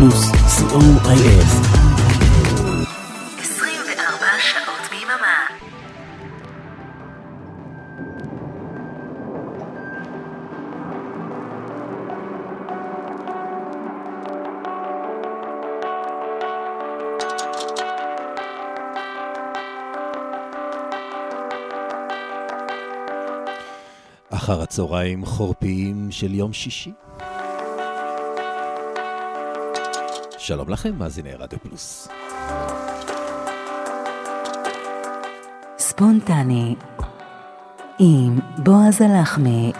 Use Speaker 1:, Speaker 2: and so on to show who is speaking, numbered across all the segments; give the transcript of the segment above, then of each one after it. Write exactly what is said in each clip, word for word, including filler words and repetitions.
Speaker 1: פלוס, סי או איי אס.
Speaker 2: עשרים וארבע שעות ביממה.
Speaker 3: אחר הצהריים חורפיים של יום שישי. שלום לכם, מאזיני רדיו פלוס.
Speaker 2: ספונטני עם בועז הלחמי.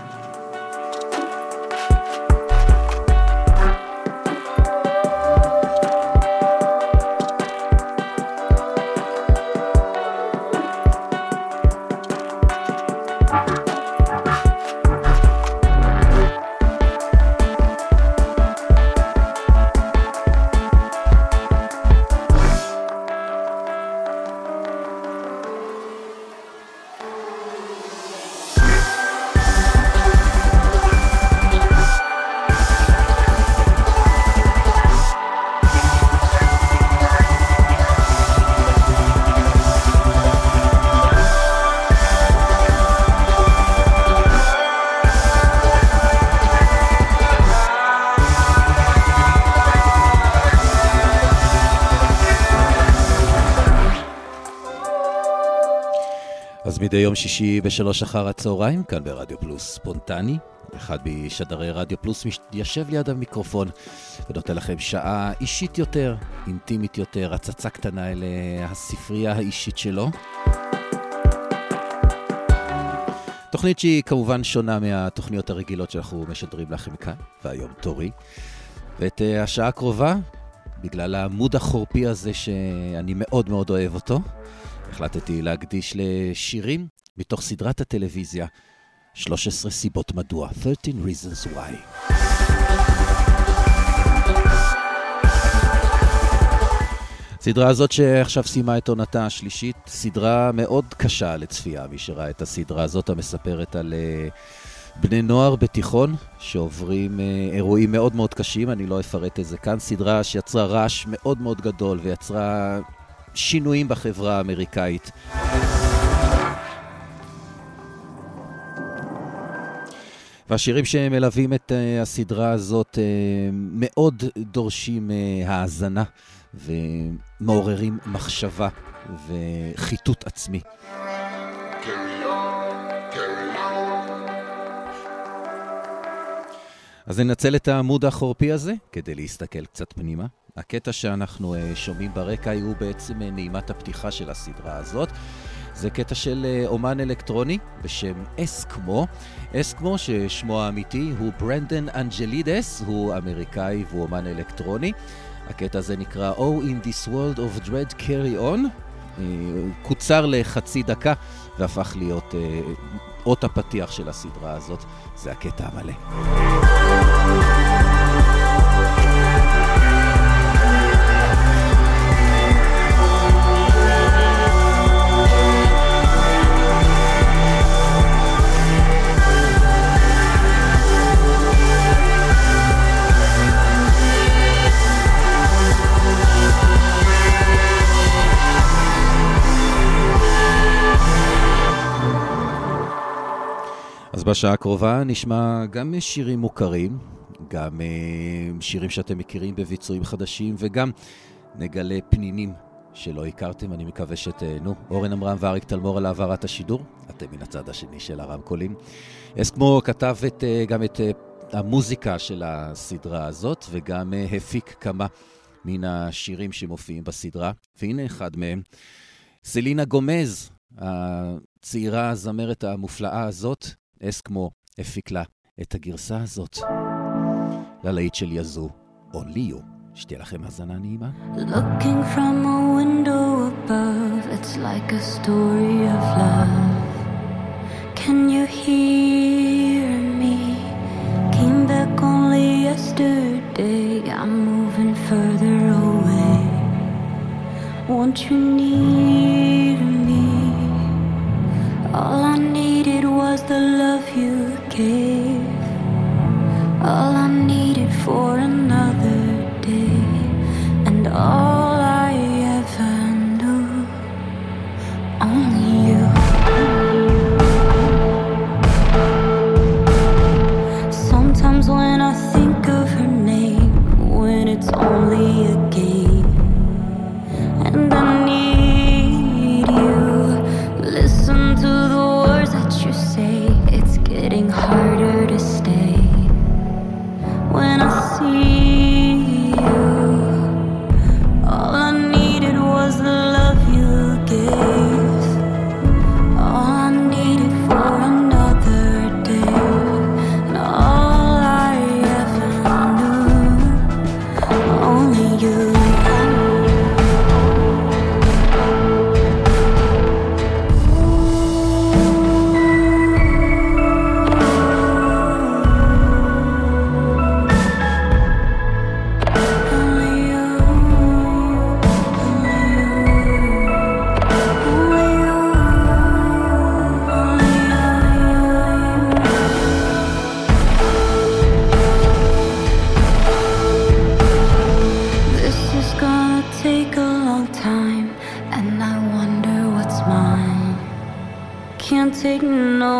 Speaker 3: מדי יום שישי בשלוש אחר הצהריים, כאן ברדיו פלוס ספונטני. אחד משדרי רדיו פלוס יושב ליד המיקרופון ונותן לכם שעה אישית יותר, אינטימית יותר, הצצה קטנה אל הספרייה האישית שלו. תוכנית שהיא כמובן שונה מהתוכניות הרגילות שאנחנו משדרים לכם כאן, והיום תורי. ואת השעה הקרובה, בגלל העמוד החורפי הזה שאני מאוד מאוד אוהב אותו, החלטתי להקדיש לשירים מתוך סדרת הטלוויזיה שלוש עשרה סיבות מדוע, שלוש עשרה reasons why. סדרה הזאת שעכשיו סיימה את עונתה השלישית, סדרה מאוד קשה לצפייה. מי שראה את הסדרה הזאת המספרת על uh, בני נוער בתיכון שעוברים uh, אירועים מאוד מאוד קשים, אני לא אפרט את זה כאן. סדרה שיצרה רעש מאוד מאוד גדול ויצרה שינויים בחברה האמריקאית. והשירים שמלווים את uh, הסדרה הזאת uh, מאוד דורשים uh, האזנה ומעוררים מחשבה וחיתות עצמי. אז ננצל את העמוד החורפי הזה כדי להסתכל קצת פנימה. הקטע שאנחנו uh, שומעים ברקע הוא בעצם uh, נעימת הפתיחה של הסדרה הזאת. זה קטע של uh, אומן אלקטרוני בשם אסקמו. אסקמו ששמו האמיתי הוא ברנדן אנג'לידס, הוא אמריקאי והוא אומן אלקטרוני. הקטע הזה נקרא Oh in this world of dread carry on. uh, קוצר לחצי דקה והפך להיות uh, אות הפתיח של הסדרה הזאת. זה הקטע המלא. אז בשעה הקרובה נשמע גם שירים מוכרים, גם שירים שאתם מכירים בביצועים חדשים, וגם נגלה פנינים שלא הכרתם. אני מקווה שתהנו. אורן אמרם ואריק תלמור על העברת השידור, אתם מן הצד השני של הרמקולים. אסקמו כתב את, גם את המוזיקה של הסדרה הזאת, וגם הפיק כמה מן השירים שמופיעים בסדרה, והנה אחד מהם. סלינה גומז, הצעירה הזמרת המופלאה הזאת, אסקמו הפיק לה את הגרסה הזאת ללהיט של יזו, Only You. שתהיה לכם הזנה נעימה.
Speaker 4: Looking from a window above, it's like a story of love. Can you hear me? Came back only yesterday, I'm moving further away. Won't you near me? All I needed was the love you gave. All I needed for another day.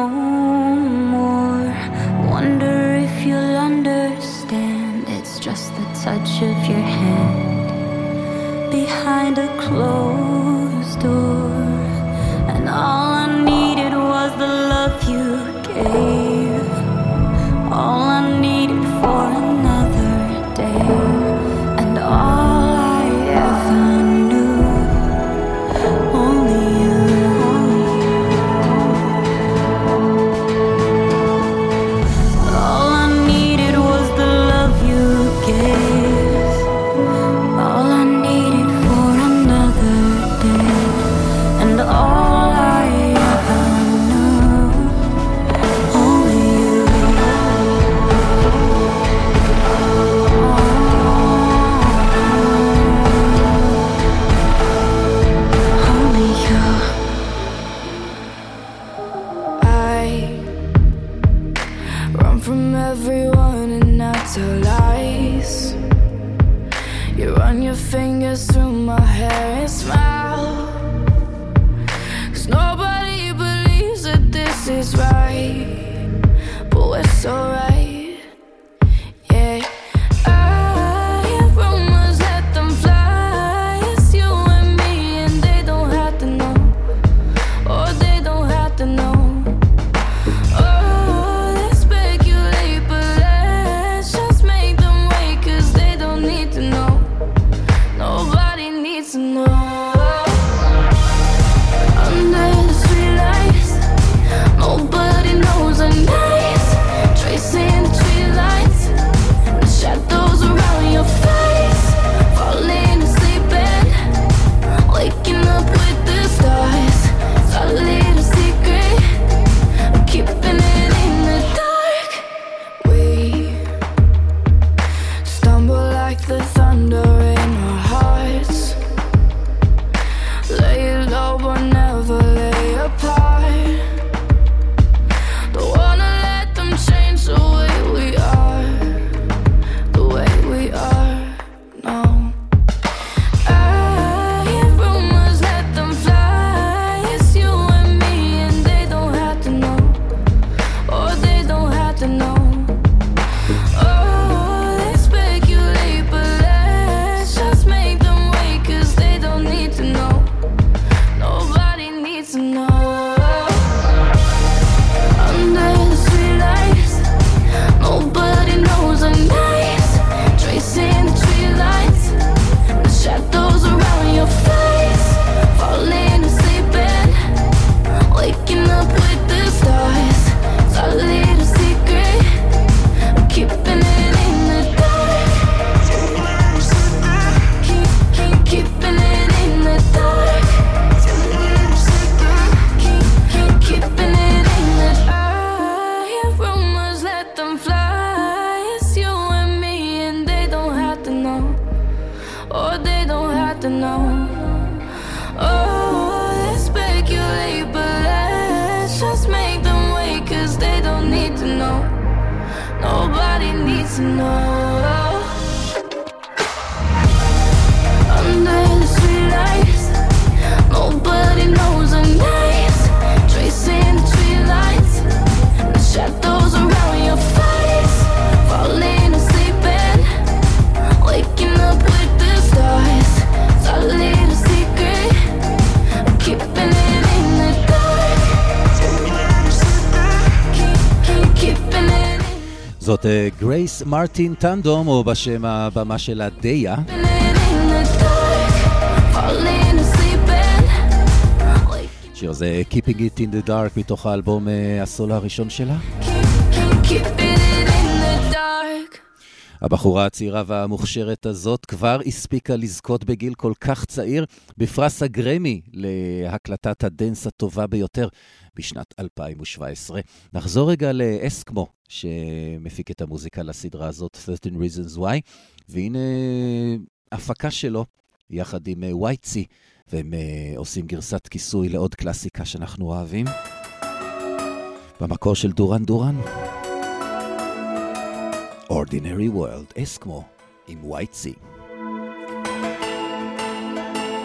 Speaker 4: no more. Wonder if you'll understand. It's just the touch of your hand behind a closed door. And all I needed was the love you gave. All I needed for another day. And all I ever knew, only you. All I needed was the love you gave. All I needed for another day. And all I ever knew, only you. Only you.
Speaker 5: I run from everyone and not tell lies. You run your fingers through my hair and smile. 'Cause nobody believes that this is right, but we're so right. Yeah, I hear rumors, let them fly. It's you and me and they don't have to know. Oh, they don't have to know. Oh, they speculate, but let's just make them wait, 'cause they don't need to know. Nobody needs to know. Under the streetlights, nobody knows our names. Tracing the tree lines, the shadows around your face. Falling asleep and waking up with the stars. It's our little secret, keeping it in the dark. We stumble like the thunder in our hearts. Lay low but never lay apart. Don't wanna let them change the way we are, the way we are, no. I hear rumors, let them fly. It's you and me and they don't have to know. Oh, they don't have to know. Oh, they speculate, but let's just make them wait, 'cause they don't need to know. Nobody needs to know. Under the streetlights, nobody knows our names. Tracing the tree lines, the shadows around your face. Falling asleep and waking up with the stars. It's our little secret, keeping it in the dark. Keep, keep, keeping it in the dark. Keep, keep, keeping it in the dark. I hear rumors, let them fly. It's you and me and they don't have to know. Oh, they don't have to know. Oh, they speculate, but let's just make them wait, 'cause they don't need to know. Nobody needs to know. Under the streetlights, nobody knows our names. Tracing the tree lines, the shadows around your face. Falling asleep and waking up with the stars. It's our little secret, keeping it in the dark. Keep, keep, keeping it in.
Speaker 3: זאת גרייס מרטין טנדום, או בשם הבמה שלה דיה.
Speaker 5: Keeping it in the dark, falling asleep and waking.
Speaker 3: שיר זה Keeping It in the Dark מתוך האלבום אה, הסולו הראשון שלה.
Speaker 5: Keep, keep, keeping it in the dark.
Speaker 3: הבחורה הצעירה והמוכשרת הזאת כבר הספיקה לזכות בגיל כל כך צעיר בפרס הגרמי להקלטת הדנס הטובה ביותר בשנת אלפיים שבע עשרה. נחזור רגע לאסקמו שמפיק את המוזיקה לסדרה הזאת, thirteen reasons why, והנה הפקה שלו יחד עם וייטסי, והם עושים גרסת כיסוי לעוד קלאסיקה שאנחנו אוהבים במקור של דורן דורן. Ordinary World, אסקמו עם וייטסי.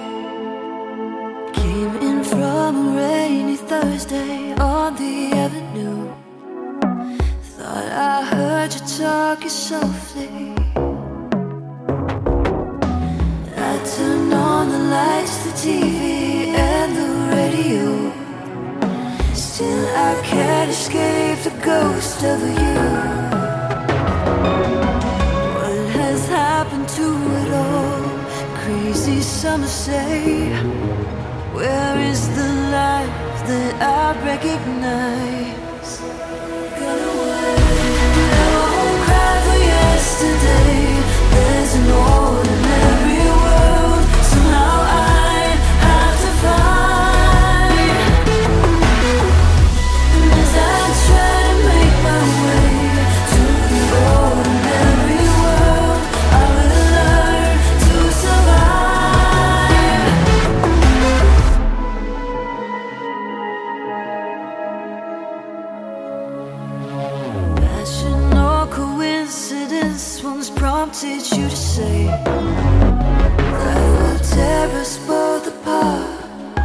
Speaker 4: Came in from a rainy Thursday on the avenue.
Speaker 5: rock you softly. I turn on the lights, the T V and the radio. Still I can't escape the ghost of you. What has happened to it all? Crazy summer say, where is the life that I recognize? Got away, I won't cry for yesterday. There's an ordinary world somehow I have to find. And as I try to make my way to the ordinary world, I will learn to survive. Passion or coincidence once prompted you to say that will tear us both apart.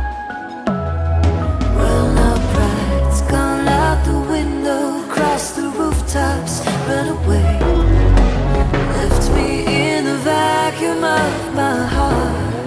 Speaker 5: Well, now pride's gone out the window, cross the rooftops, run away, left me in the vacuum of my heart.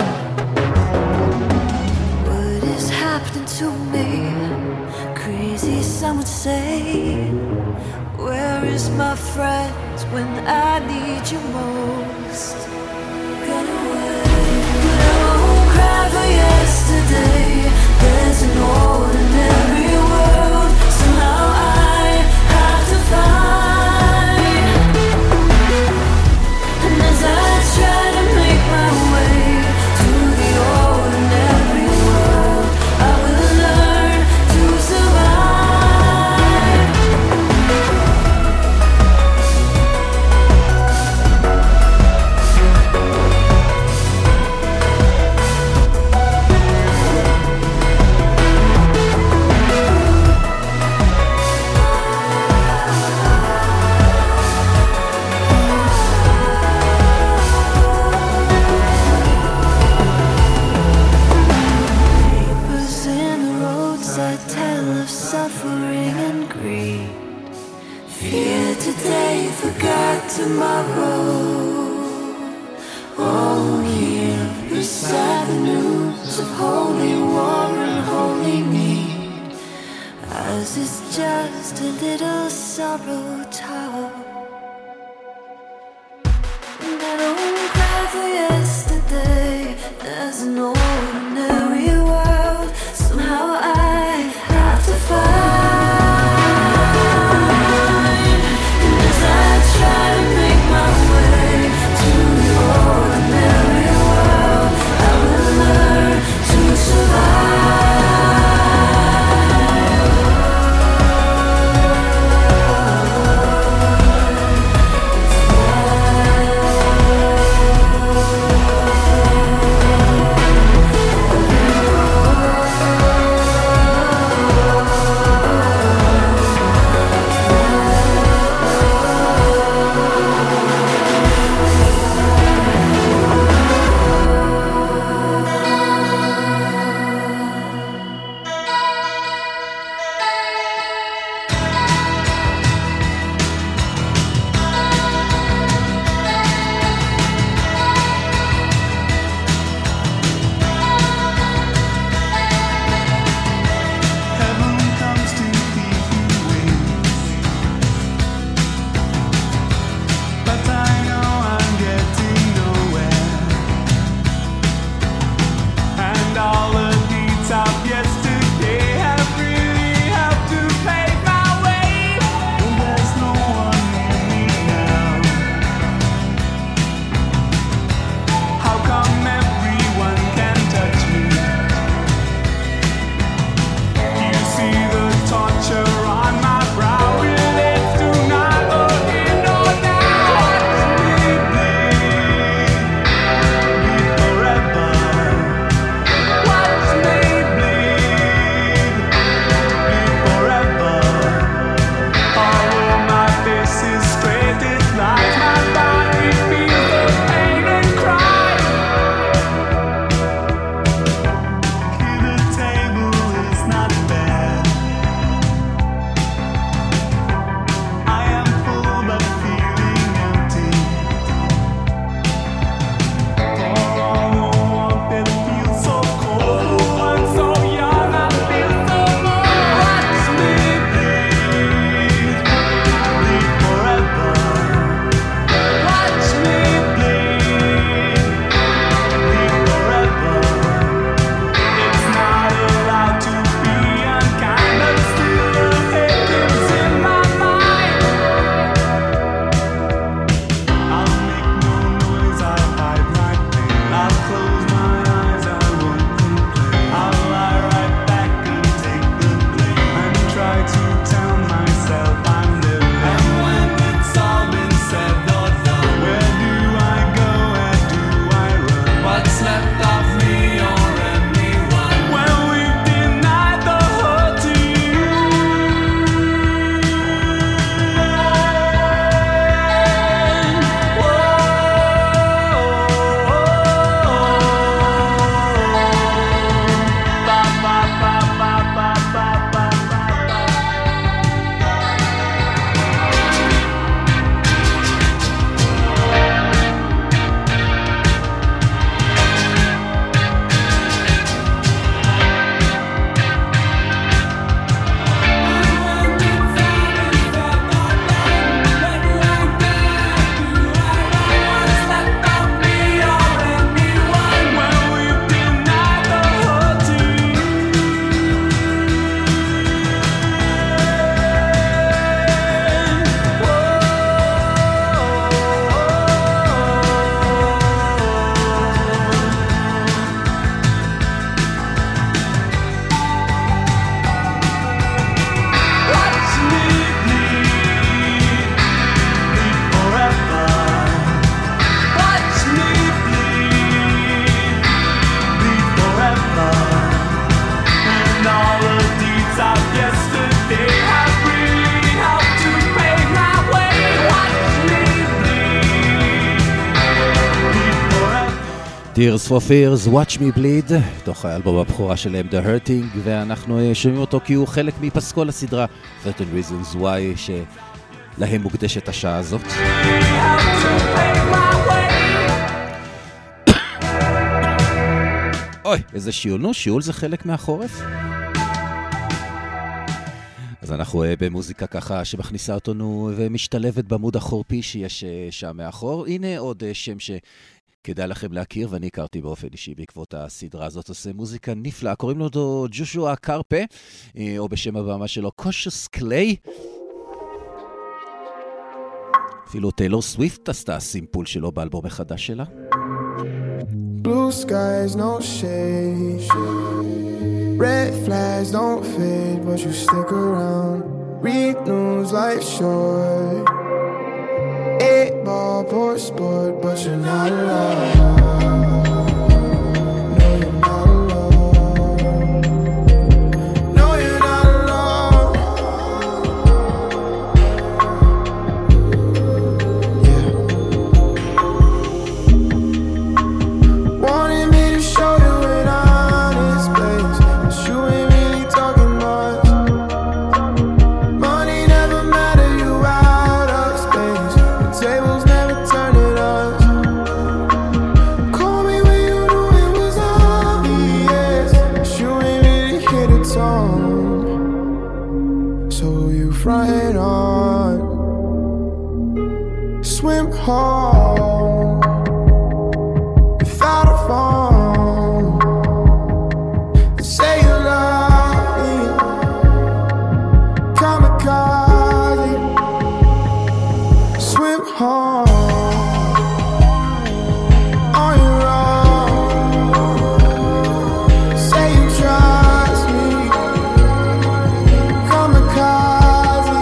Speaker 5: What is happening to me? Crazy, some would say. Where is my friend when I need you most? Got away, but I won't cry for yesterday. There's an ordinary world somehow I have to find. And as I try to make my way to the ordinary world, I will learn to survive. Papers in the roads that tell of suffering and greed. Fear today, forgot tomorrow. Oh, here beside the news of holy war and holy need. Ours is just a little sorrow talk. And I don't cry for yesterday. There's an ordinary world somehow I have to find. And as I try to make my way to the ordinary world, I will learn to survive.
Speaker 3: Tears for Fears, Watch Me Bleed, תוך האלבום הבכורה שלהם, The Hurting, ואנחנו שומעים אותו כי הוא חלק מפסקול הסדרה thirteen Reasons Why, שלהם מוקדשת השעה הזאת. אוי, איזה שיעול, נו, שיעול זה חלק מהחורף. אז אנחנו במוזיקה ככה שמכניסה אותנו ומשתלבת במוד החורפי שיש שם מאחור. הנה עוד שם שכדאי לכם להכיר, ואני הכרתי באופן אישי בעקבות הסדרה הזאת. עושה מוזיקה נפלאה, קוראים לו אותו ג'ושוע קרפה, או בשם הבמה שלו קושוס קליי. אפילו טיילור סוויפט עשתה סימפול שלו באלבום החדש שלה.
Speaker 6: Blue skies, no shade. Red flags don't fade, but you stick around. Read news, life short. Eight ball, poor sport, but you're not alone. No, you're not alone. No, you're not alone. Yeah. Wanted me to show you an honest place, but you ain't really talking much. Money never matter, you out of space. The tables never turn it us. Call me when you knew it was obvious, but you ain't really hit a tone. So you frontin' on, swim home without a phone. Say you love me, kamikaze, swim home on your own. Say you trust me, kamikaze.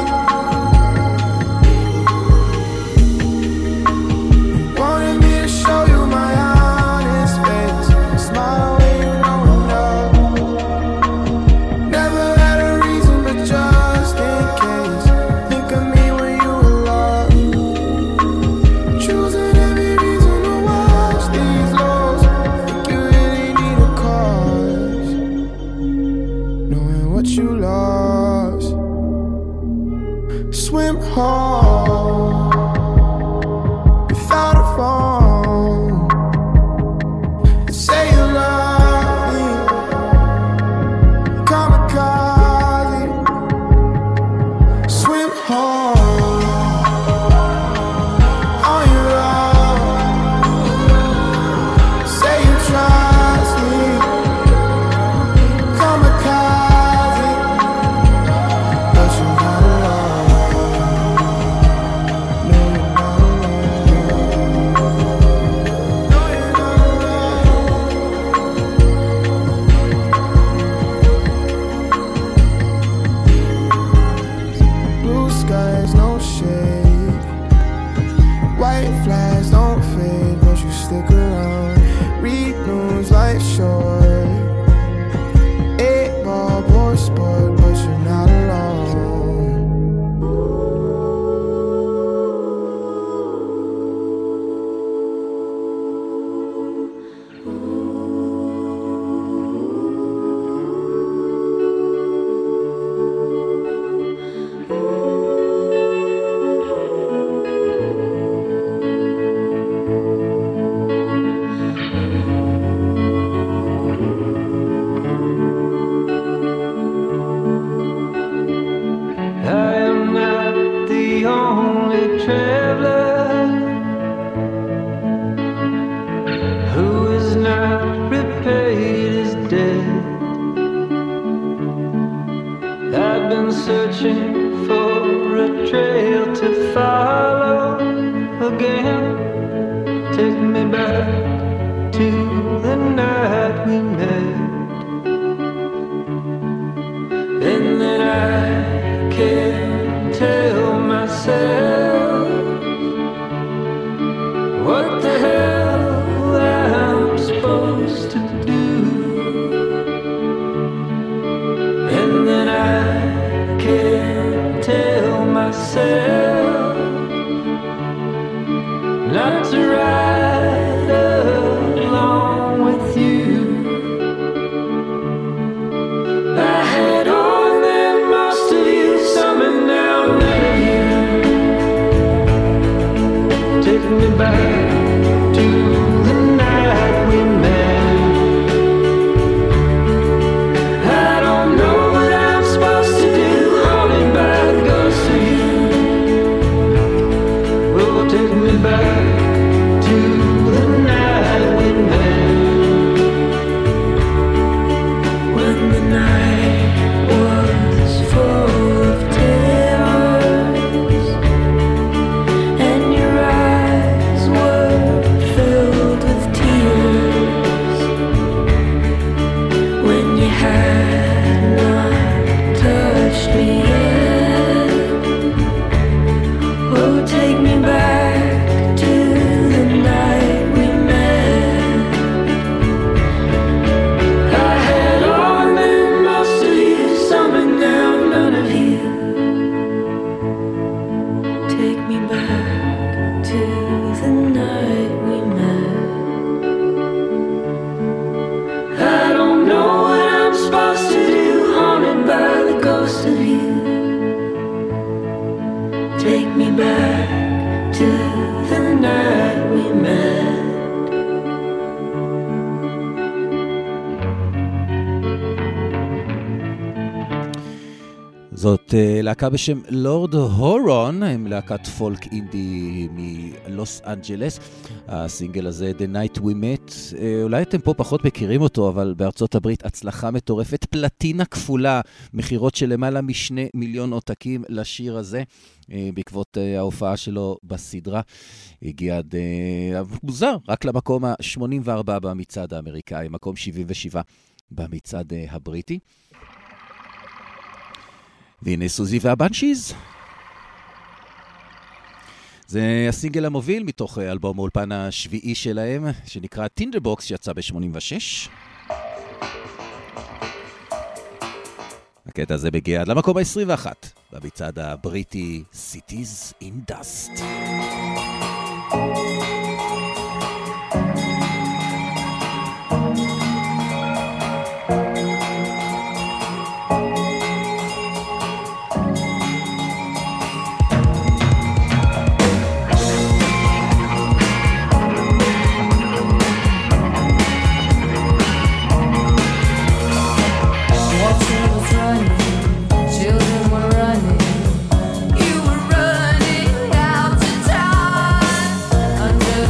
Speaker 6: Wanted me to show you my honest face, smile when you know enough. Never had a reason, but just in case. Think of me when you were loved. Choosing every reason to watch these lows. Think you really need a cause, knowing what you lost. Swim home without a phone. Say you love me, kamikaze, swim home on your own. Say you trust me, kamikaze, but you're not alone. No, you're not alone. No, you're not alone. Blue skies, no shade. White flags don't fade, but you stick around. Read news, life short. Eight ball, poor sport, but you're not alone.
Speaker 7: I am not the only traveler who is not repaid his debt. I've been searching for a trail to follow again. Take me back to the night we met. And then I can't tell myself what the hell I'm supposed to do. And then I can't tell myself not to ride along. back to the night we met. I don't know what I'm supposed to do, haunted by the ghost of you. Oh, take me back to the night we met. When the night was full of terrors and your eyes were filled with tears, when you had not touched me yet. Oh, take me back to the night we met. I had all and most of you, some and now none of you. Take me back to the night we met. I don't know what I'm supposed to do, haunted by the ghost of you. Take me back to the night we met.
Speaker 3: זאת uh, להקה בשם לורד הורון, הם להקת פולק אינדי מלוס אנג'לס. הסינגל הזה, The Night We Met, uh, אולי אתם פה פחות מכירים אותו, אבל בארצות הברית הצלחה מטורפת, פלטינה כפולה, מחירות של למעלה משני מיליון עותקים לשיר הזה, uh, בעקבות uh, ההופעה שלו בסדרה. הגיע עד uh, מוזר, רק למקום ה-שמונים וארבע במצעד האמריקאי, מקום שבעים ושבע במצעד uh, הבריטי. והנה סוזי והבנשיז. זה הסינגל המוביל מתוך אלבום האולפן השביעי שלהם, שנקרא טינדרבוקס, שיצא ב-שמונים ושש. הקטע הזה מגיע עד למקום ה-עשרים ואחת במצעד הבריטי Cities in Dust.
Speaker 8: Children were running, you were running out to time.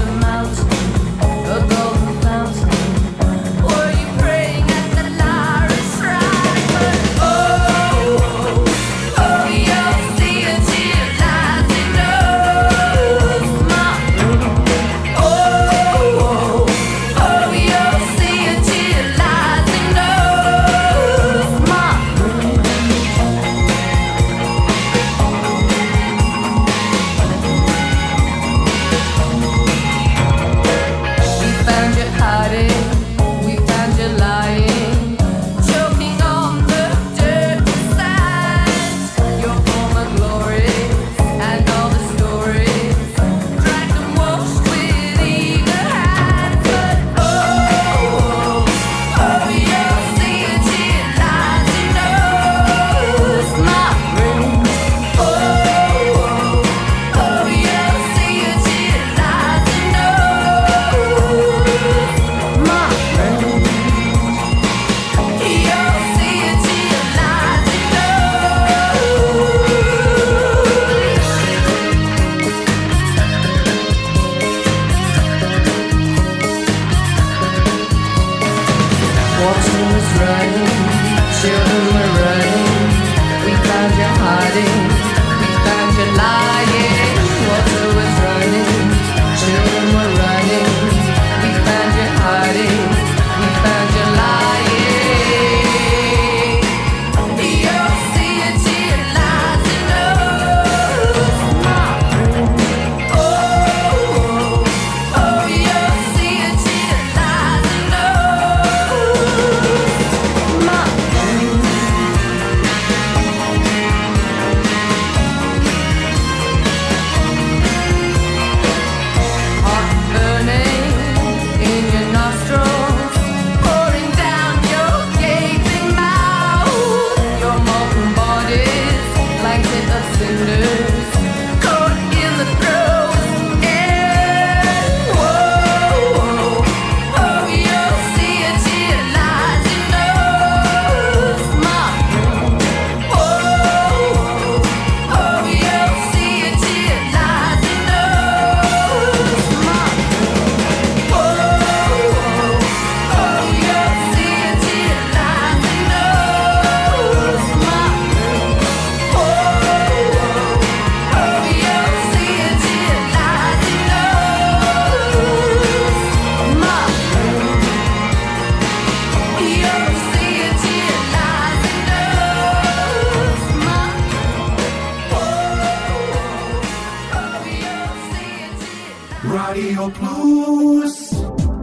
Speaker 6: רדיו פלוס.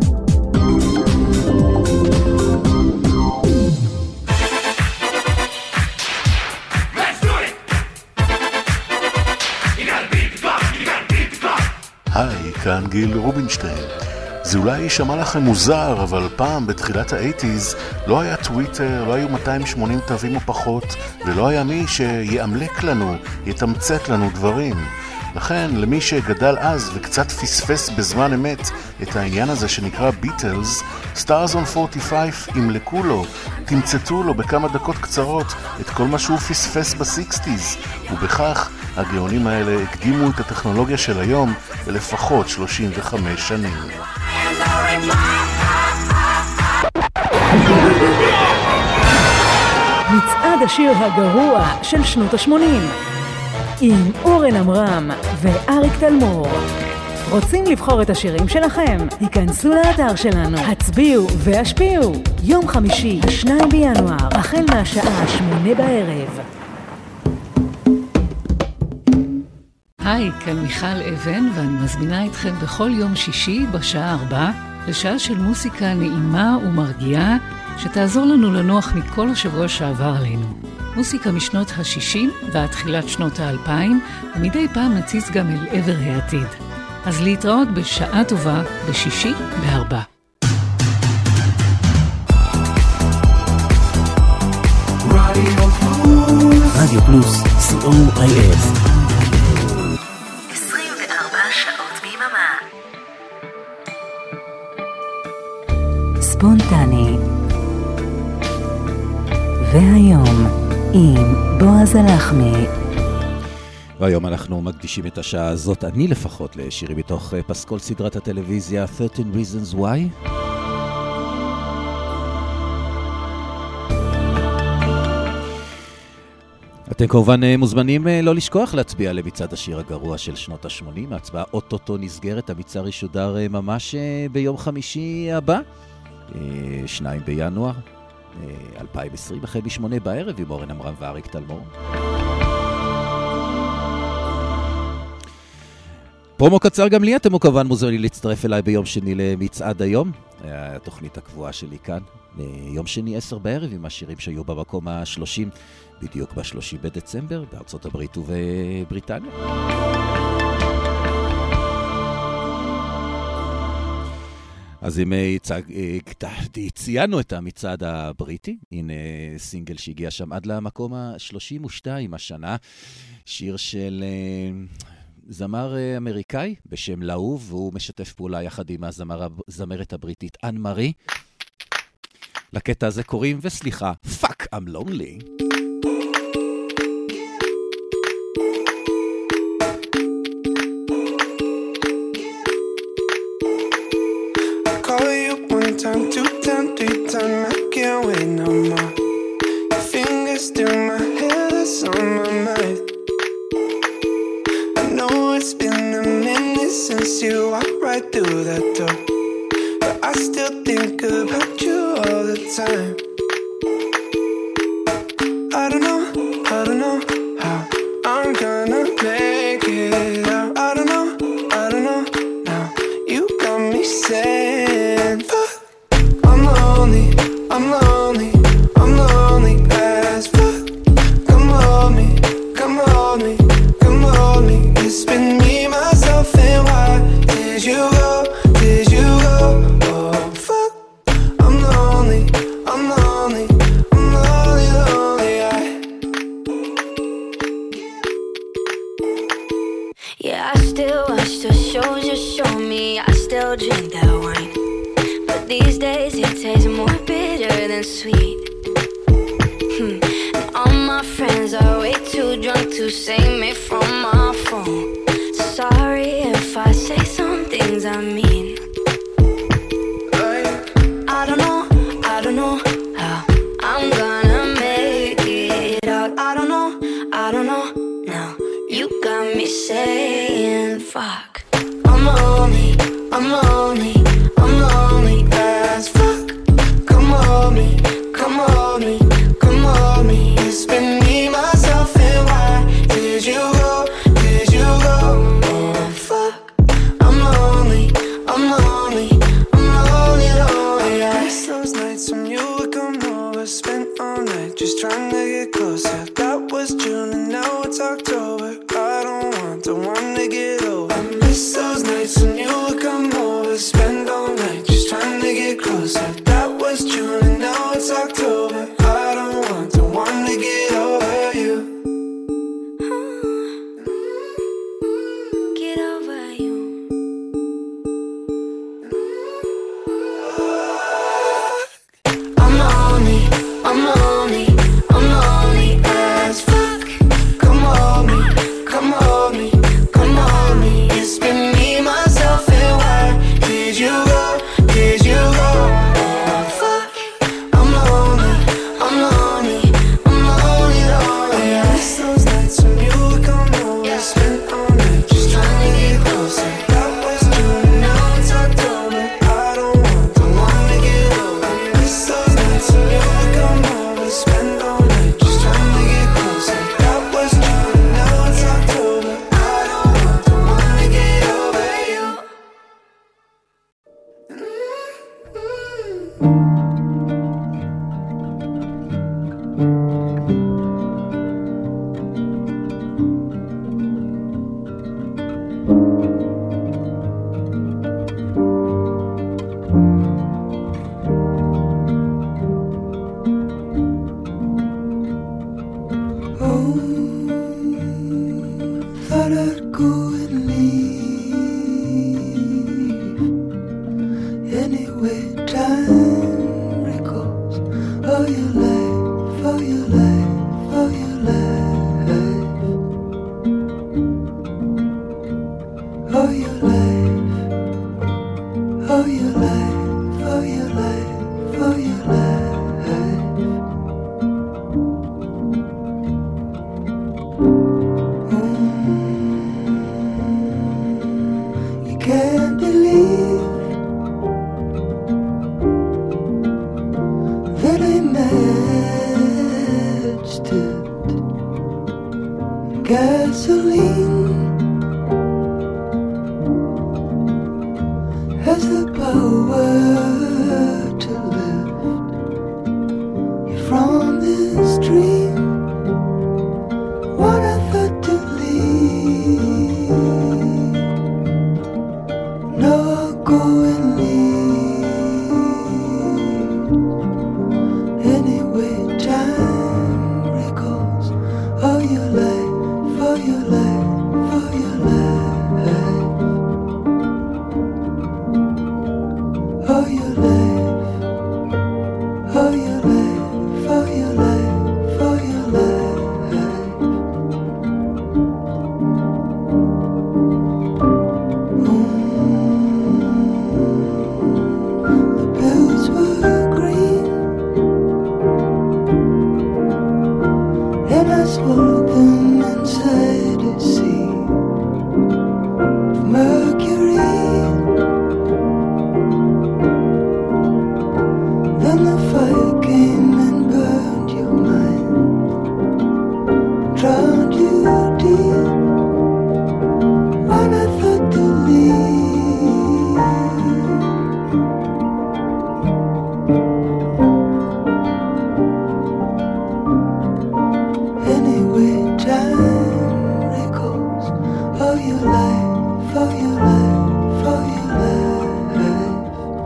Speaker 8: היי, כאן גיל רובינשטיין. זה אולי יישמע לכם מוזר, אבל פעם בתחילת ה-שמונים לא היה טוויטר, לא היו מאתיים ושמונים תווים או פחות, ולא היה מי שיאמלק לנו, יתמצת לנו דברים. לכן, למי שגדל אז וקצת פספס בזמן אמת את העניין הזה שנקרא ביטלס, Stars on ארבעים וחמש ימלקו לו, תמצתו לו בכמה דקות קצרות את כל מה שהוא פספס ב-שישים, ובכך הגאונים האלה הקדימו את הטכנולוגיה של היום בלפחות שלושים וחמש שנים.
Speaker 2: מצעד השיר הגרוע של שנות ה-שמונים עם אורן אמרם ואריק תלמור. רוצים לבחור את השירים שלכם? היכנסו לאתר שלנו, הצביעו והשפיעו. יום חמישי, השני בינואר, החל מהשעה שמונה בערב. היי, כאן מיכל אבן, ואני מזמינה אתכם בכל יום שישי בשעה ארבע לשעה של מוסיקה נעימה ומרגיעה שתעזור לנו לנוח מכל השבוע שעבר עלינו. מוסיקה משנות ה-שישים ועד תחילת שנות ה-אלפיים, ומדי פעם נציץ גם אל עבר העתיד. אז להתראות בשעה טובה בשישי בארבע.
Speaker 1: רדיו פלוס, סי או איי אס.
Speaker 2: עשרים וארבע שעות ביממה. ספונטני. והיום עם בועז הלחמי.
Speaker 3: והיום אנחנו מקדישים את השעה הזאת, אני לפחות, לשירים מתוך פסקול סדרת הטלוויזיה שלוש עשרה Reasons Why. אתם כמובן מוזמנים לא לשכוח להצביע למצעד השיר הגרוע של שנות ה-שמונים. ההצבעה אוטוטו נסגרת, המצעד ישודר ממש ביום חמישי הבא, שניים בינואר אלפיים ועשרים, החל בשמונה בערב עם אורן אמרם ואריק תלמור. פרומו קצר גם לי, אתם כמובן מוזמנים להצטרף אליי ביום שני למצעד היום, התוכנית הקבועה שלי כאן, יום שני עשר בערב עם השירים שהיו במקום ה-שלושים, בדיוק ב-שלושים בדצמבר, בארצות הברית ובבריטניה. אז אם ציינו את המצעד הבריטי, הנה סינגל שהגיע שם עד למקום ה-שלושים ושתיים השנה, שיר של זמר אמריקאי בשם לאוב, והוא משתף פעולה יחד עם הזמרת הבריטית אן מארי. לקטע הזה קוראים, וסליחה, Fuck I'm Lonely.
Speaker 6: Time, two time, three time, I can't wait no more. Your fingers through my hair, that's on my mind. I know it's been a minute since you walked right through that door, but I still think about you all the time. I don't know, I don't know how I'm gonna make it out. I don't know, I don't know now. You got me saying fuck. I'm lonely, I'm lonely as fuck. Come hold me, come hold me, come hold me. It's been me, myself, and why did you go, did you go? Oh fuck, I'm lonely, I'm lonely, I'm lonely, lonely. I Yeah, I still watch the shows you show me, I still drink that wine, but these days it tastes more bitter than sweet. Hmm. And all my friends are way too drunk to save me from my phone. Sorry if I say some things I mean. I don't know, I don't know how I'm gonna make it out. I don't know, I don't know now. You got me saying fuck. I'm lonely, I'm lonely, I'm lonely as fuck. Come hold me, come hold me, come hold me. It's been me, myself, and why did you go, did you go? Oh fuck, I'm lonely. want the one to get over. I miss those nights when you would come over, spend all night just trying to get closer. That was June and now it's October. I don't want the one to get over you.
Speaker 4: Get over you.
Speaker 6: I'm lonely, I'm lonely, I'm lonely as fuck. Come hold me, come hold me, come hold me. It's been me, myself, and why did you go, did you go? Oh, fuck. I'm lonely, I'm lonely, I'm lonely, lonely. I miss those nights when you would come over, spend all night just trying to get closer. That was June and now it's October. I don't want the one to get over. I miss those nights when you would come over, spend all night just trying to get closer. That was June and now it's October. I don't want the one to get over you. Thought I'd go and leave. Anyway, time recalls all your life, all your life, all your life, all your life, all your life, all your life, all your life. You can't believe that I matched it. Gasoline has the power to lift you from this dream. What I thought to leave, no, I'll go and leave. Anyway, time recalls all your life, all your life, all your life, all your life, all your life, all your life, all your life. The pills were green, and I swallowed them inside a sea of mercury. Then the fire came and burned your mind, drowned you deep. When I thought to leave, anyway, time recalls all your life, all your life, all your life,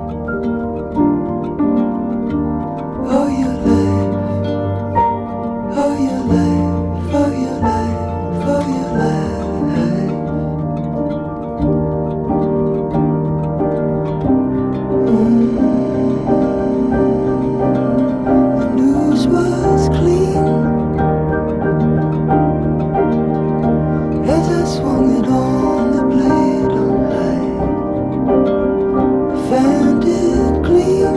Speaker 6: all your life, all your life, all your life, all your life. The news was clean as I swung it on the blade on high. I found it clean,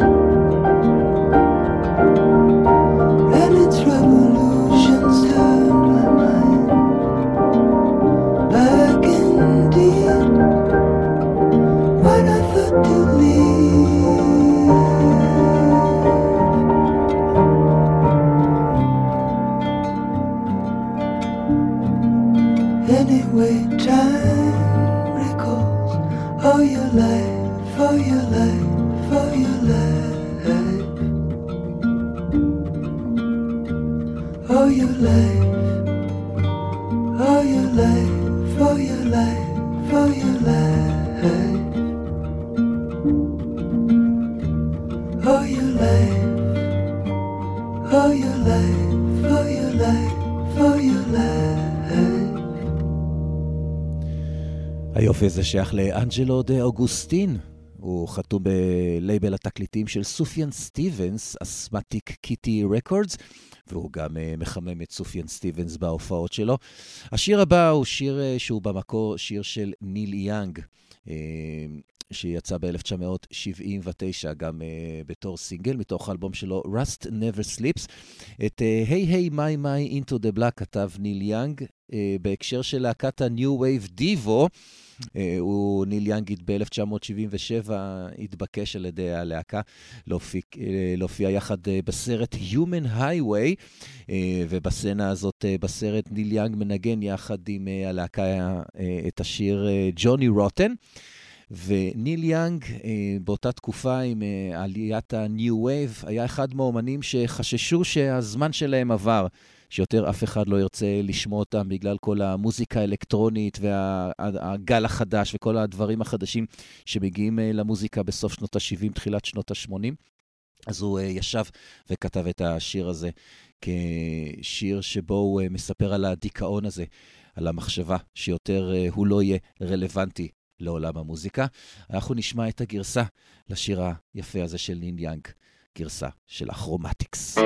Speaker 6: and its revolutions turned my mind back indeed. When I thought to leave, anyway, time recalls all your life, all your life, all your life, all your life, all your life,
Speaker 9: life, for your life, for your life, for your life, for your life, for your life.
Speaker 3: היופי הזה שייך לאנג'לו דה אוגוסטין. הוא חתום בלייבל התקליטים של סופיאן סטיבנס, אסמטיק קיטי רקורדס, והוא גם uh, מחמם את סופיאן סטיבנס בהופעות שלו. השיר הבא הוא שיר uh, שהוא במקור שיר של ניל יאנג, uh, שיצא ב-אלף תשע מאות שבעים ותשע גם uh, בתור סינגל, מתוך האלבום שלו Rust Never Sleeps. את uh, Hey Hey My My Into the Black כתב ניל יאנג, uh, בהקשר של להקת ה-New Wave Divo, הוא ניל יאנג ב-אלף תשע מאות שבעים ושבע התבקש על ידי הלהקה להופיע יחד בסרט Human Highway, ובסצנה הזאת בסרט ניל יאנג מנגן יחד עם הלהקה את השיר ג'וני רוטן. וניל יאנג באותה תקופה עם עליית ה-New Wave היה אחד מהאומנים שחששו שהזמן שלהם עבר, שיותר אף אחד לא ירצה לשמוע אותם בגלל כל המוזיקה האלקטרונית והגל החדש וכל הדברים החדשים שמגיעים למוזיקה בסוף שנות ה-שבעים, תחילת שנות ה-שמונים. אז הוא ישב וכתב את השיר הזה כשיר שבו הוא מספר על הדיכאון הזה, על המחשבה שיותר הוא לא יהיה רלוונטי לעולם המוזיקה. אנחנו נשמע את הגרסה לשיר היפה הזה של ניל יאנג, גרסה של הכרומטיקס.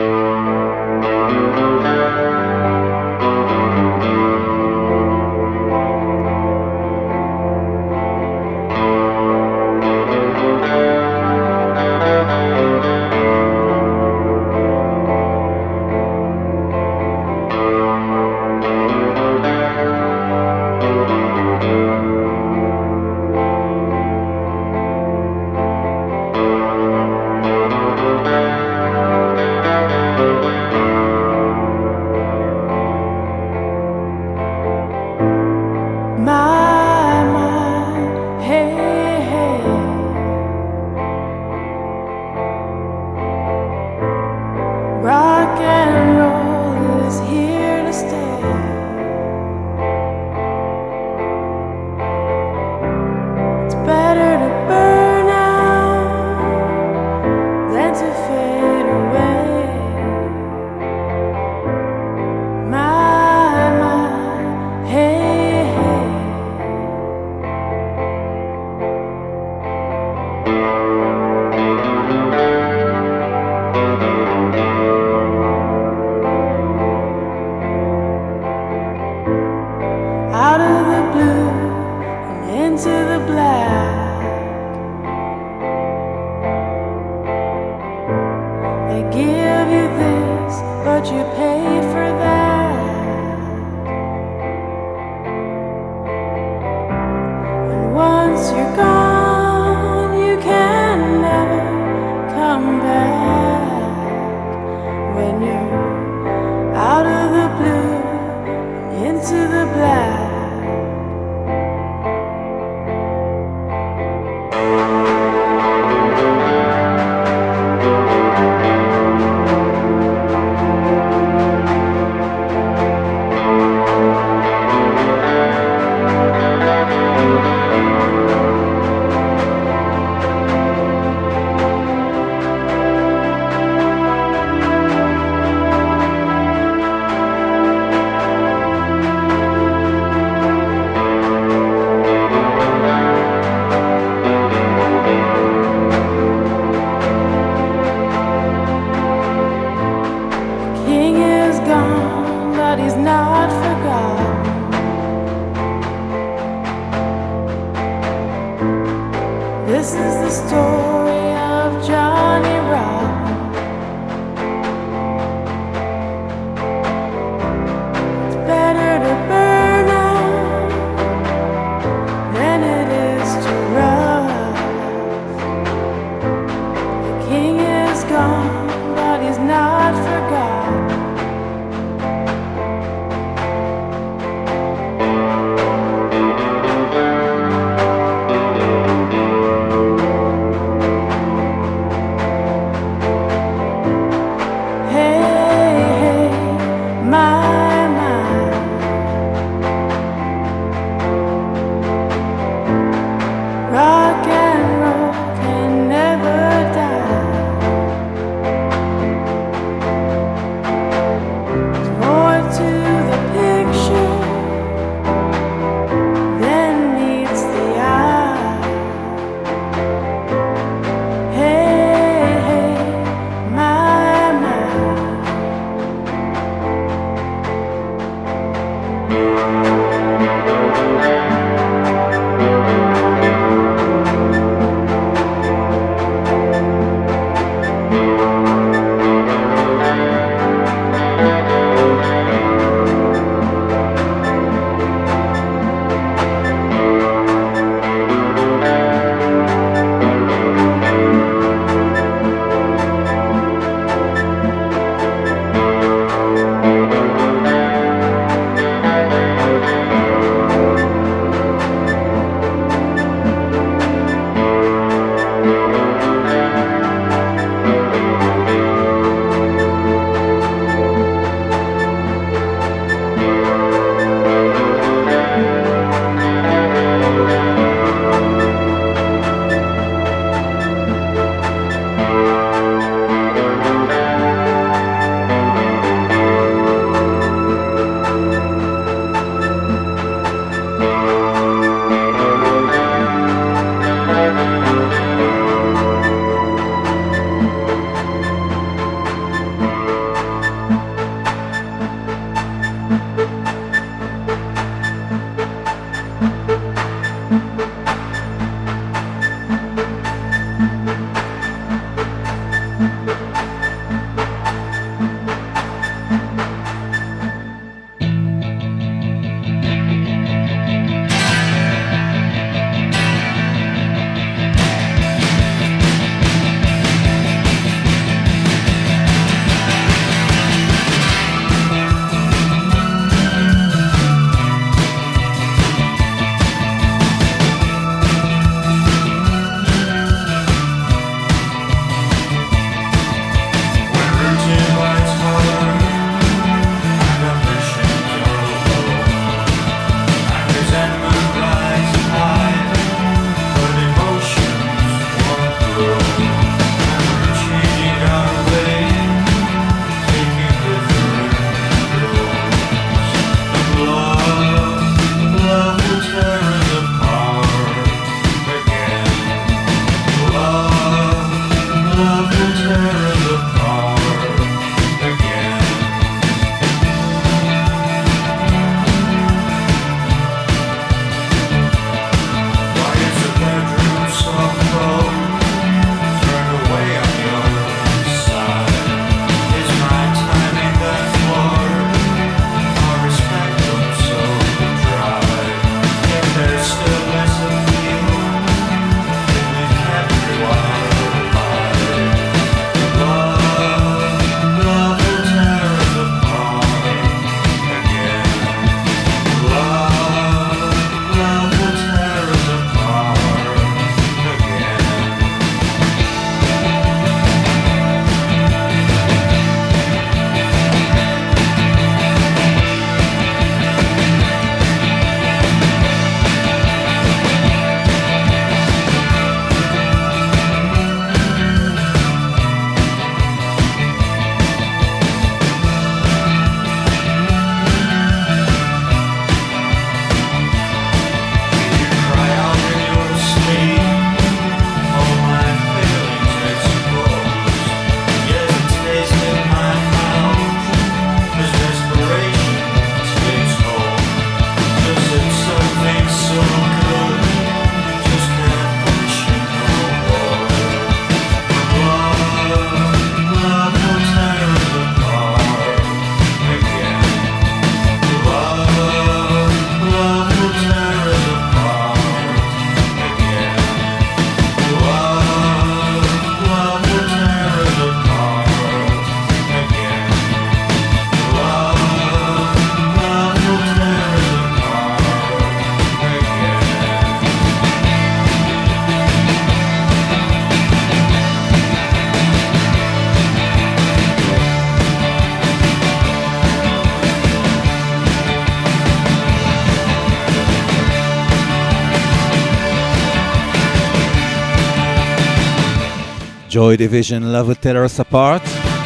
Speaker 3: Joy Division, Love Will Tear Us Apart.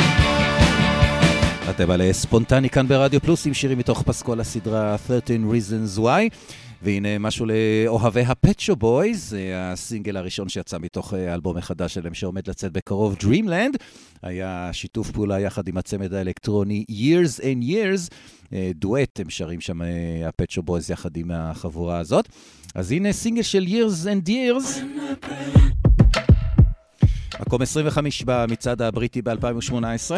Speaker 3: אתם על ספונטני כאן ברדיו פלוס עם שירים מתוך פסקול הסדרה שלוש עשרה Reasons Why. והנה משהו לאוהבי הפט שופ בויז, זה הסינגל הראשון שיצא מתוך אלבום החדש שלהם שעומד לצאת בקרוב, Dreamland. היה שיתוף פעולה יחד עם הצמד האלקטרוני Years and Years, דואט, הם שרים שם הפט שופ בויז יחד עם החבורה הזאת. אז הנה סינגל של Years and Years, מקום עשרים וחמש במצעד הבריטי ב-אלפיים ושמונה עשרה.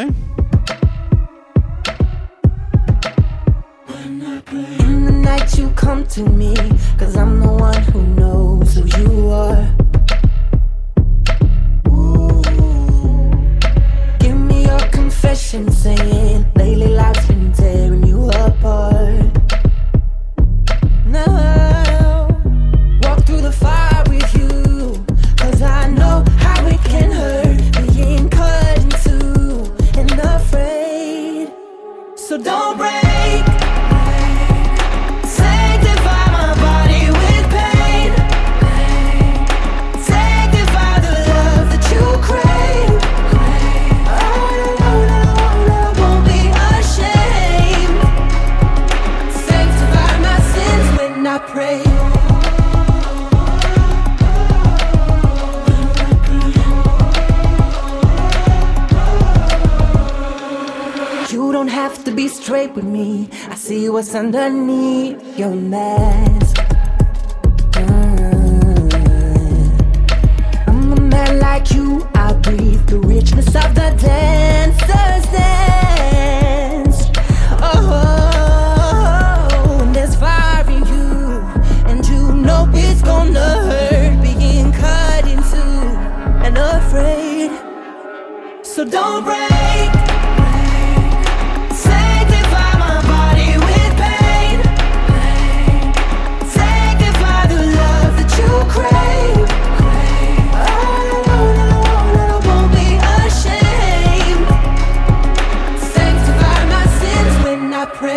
Speaker 10: In the night you come to me, 'cause I'm the one who knows who you are. Ooh. Give me your confession, saying lately life's been tearing you apart. Now, walk through the fire with you, 'cause I know how it can hurt, being cut in two and afraid. So don't break. Pray. You don't have to be straight with me. I see what's underneath your mask. Mm. I'm a man like you. I breathe the richness of the dancer's dance. Oh, and there's fire in you. No, it's gonna hurt being cut in two and afraid. So don't break. Sanctify my body with pain. Sanctify the love that you crave. Oh, I won't be ashamed. Sanctify my sins when I pray.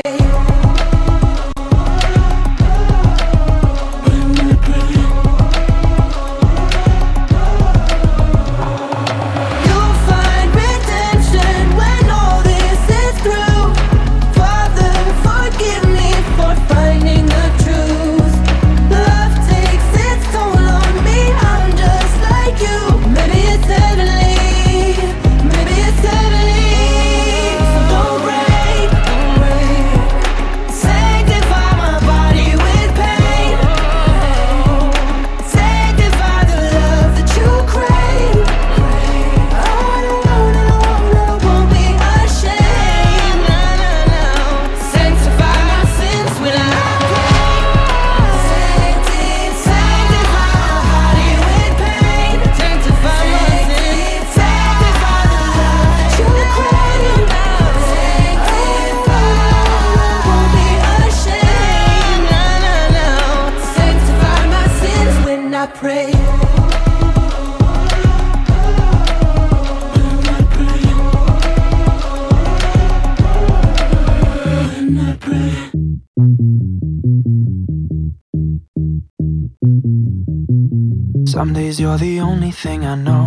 Speaker 9: Some days you're the only thing I know,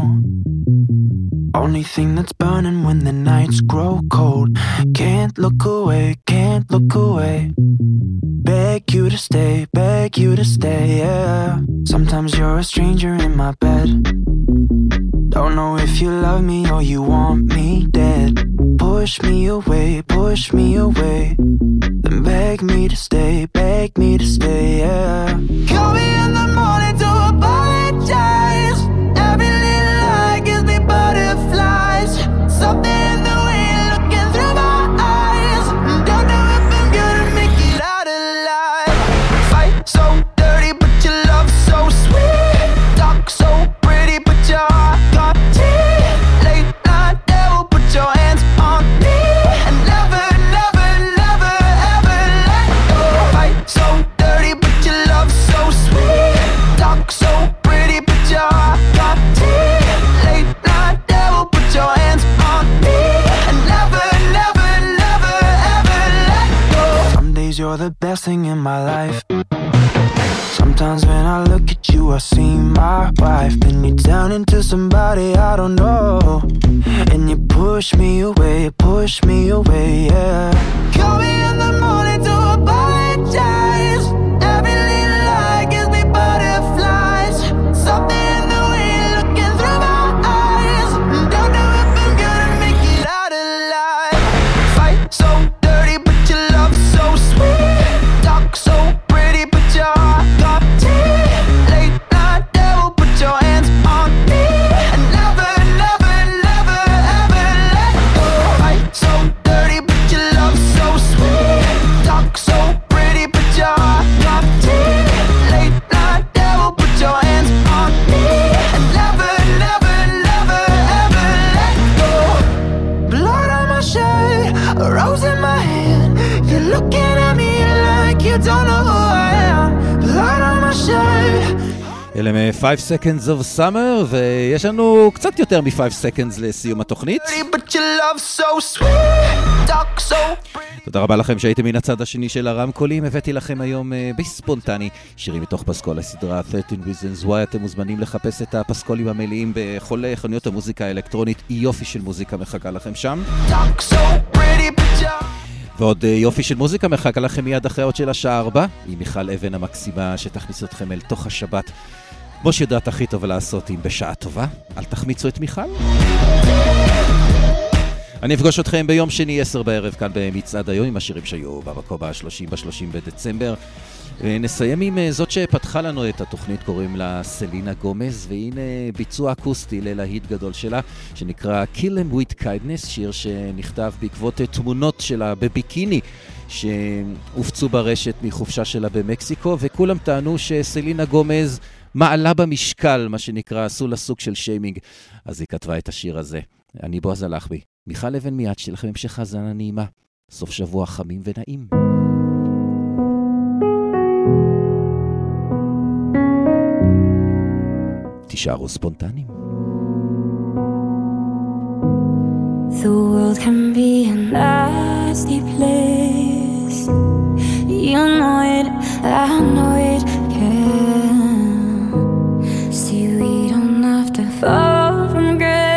Speaker 9: only thing that's burning when the nights grow cold. Can't look away, can't look away. Beg you to stay, beg you to stay, yeah. Sometimes you're a stranger in my bed. Don't know if you love me or you want me dead. Push me away, push me away. Then beg me to stay, beg me to stay, yeah. Call me in the morning to apologize. Every little lie gives me butterflies. Something in the way you're looking through my eyes. Don't know if I'm gonna make it out alive. Fight so dirty, but your love so sweet. Talk so pretty, but your heart got teeth. Late night devil, put your hands on me. And never, never, never, ever let go. Fight so dirty, but your love so sweet. Talk so pretty, but your heart got teeth. Late night devil, put your hands on me. And never, never, never, ever let go. Some days you're the best thing in my life. Sometimes when I look at you, I I see my wife, then you turn into somebody I don't know, and you push me away, push me away, yeah. Call me in the morning to apologize. Every little lie gives me butterflies. Something in the way you're looking through my eyes. Don't know if I'm gonna make it out alive. Fight so dirty, but your love so sweet. Talk so pretty, but your heart got teeth. Late night devil, put your hands on me. And never, never, never, ever let go. Fight so dirty, but your love so sweet. Talk so pretty, but your heart got teeth. Late night devil, put your hands on me. And never, never, never, ever let go. Blood on my shirt, a rose in my hand. You're looking at me like you don't know who I am. Blood on my shirt.
Speaker 3: אלה מ-five seconds of summer, ויש לנו קצת יותר מ-five seconds לסיום התוכנית.
Speaker 9: But your love so sweet, talk so
Speaker 3: תודה רבה לכם שהייתם מן הצד השני של הרמקולים. הבאתי לכם היום uh, בספונטני שירים מתוך פסקול הסדרה thirteen reasons why. אתם מוזמנים לחפש את הפסקולים המלאים בכל חנויות המוזיקה האלקטרונית. יופי של מוזיקה מחכה לכם שם.
Speaker 9: talk so pretty, but your
Speaker 3: ועוד יופי של מוזיקה מחכה לכם מיד אחרי עוד של השעה ארבע, עם מיכל אבן המקסימה שתכניס אתכם אל תוך השבת, כמו שיודעת הכי טוב לעשות אם בשעה טובה. אל תחמיצו את מיכל. אני אפגוש אתכם ביום שני עשר בערב כאן במצעד היום עם השירים שהיו במקום ב-שלושים ב-שלושים בדצמבר. נסיים עם זאת שפתחה לנו את התוכנית, קוראים לה סלינה גומז, והנה ביצוע אקוסטי ללהיט גדול שלה שנקרא Kill Em With Kindness, שיר שנכתב בעקבות תמונות שלה בביקיני שהופצו ברשת מחופשה שלה במקסיקו, וכולם טענו שסלינה גומז מעלה במשקל, מה שנקרא, עשו לה סוג של שיימינג, אז היא כתבה את השיר הזה. אני בועז הלחבי, מיכל אבן מיד, שיהיה לכם המשך האזנה נעימה, סוף שבוע חמים ונעים. תישארו ספונטניים.
Speaker 4: The world can be a nasty place. You know it, I know it can. See, we don't have to fall from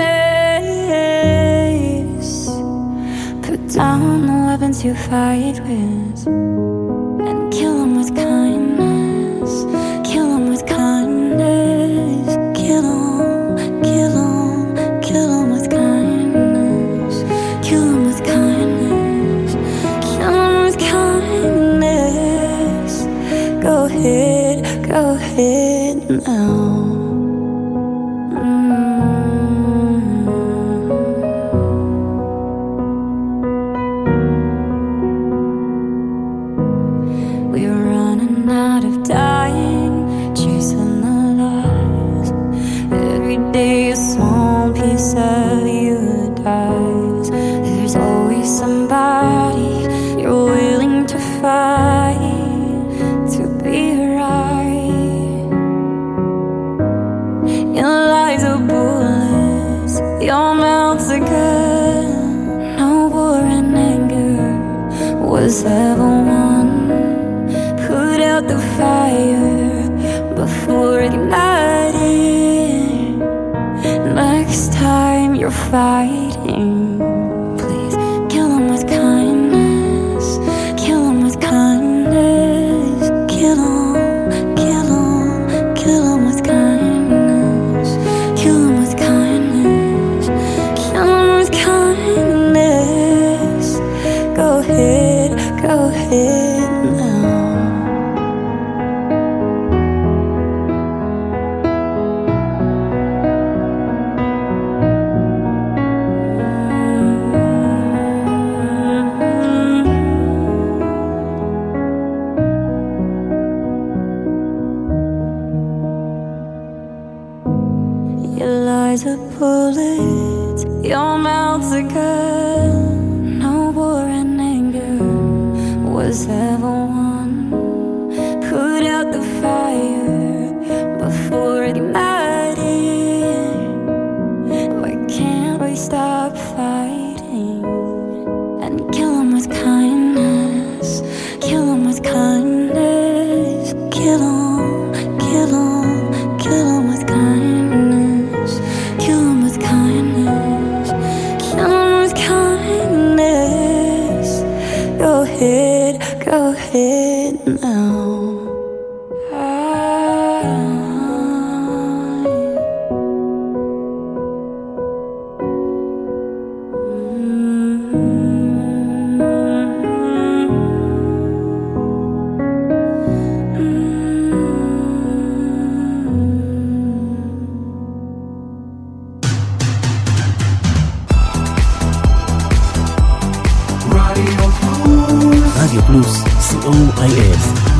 Speaker 4: grace. Put down the weapons you fight with and kill them with kindness. Kill them with kindness. Kill them, kill them, kill them with kindness. Kill them with kindness. Kill them with kindness. Go ahead, go ahead now. Was ever one. Put out the fire before igniting. Next time you're fighting, please kill them with kindness. Kill them with kindness. Kill them, kill them, kill them with kindness. Kill them with kindness. Kill them with kindness. Go ahead. Go ahead now. Your lies are bullets, your mouth's a gun. No war and anger was ever one. Put out the fire before igniting. Why can't we stop fighting and kill them with kindness? Kill them with kindness. Kill them, kill them, Go ahead now.
Speaker 1: רדיו פלוס, סי או איי אס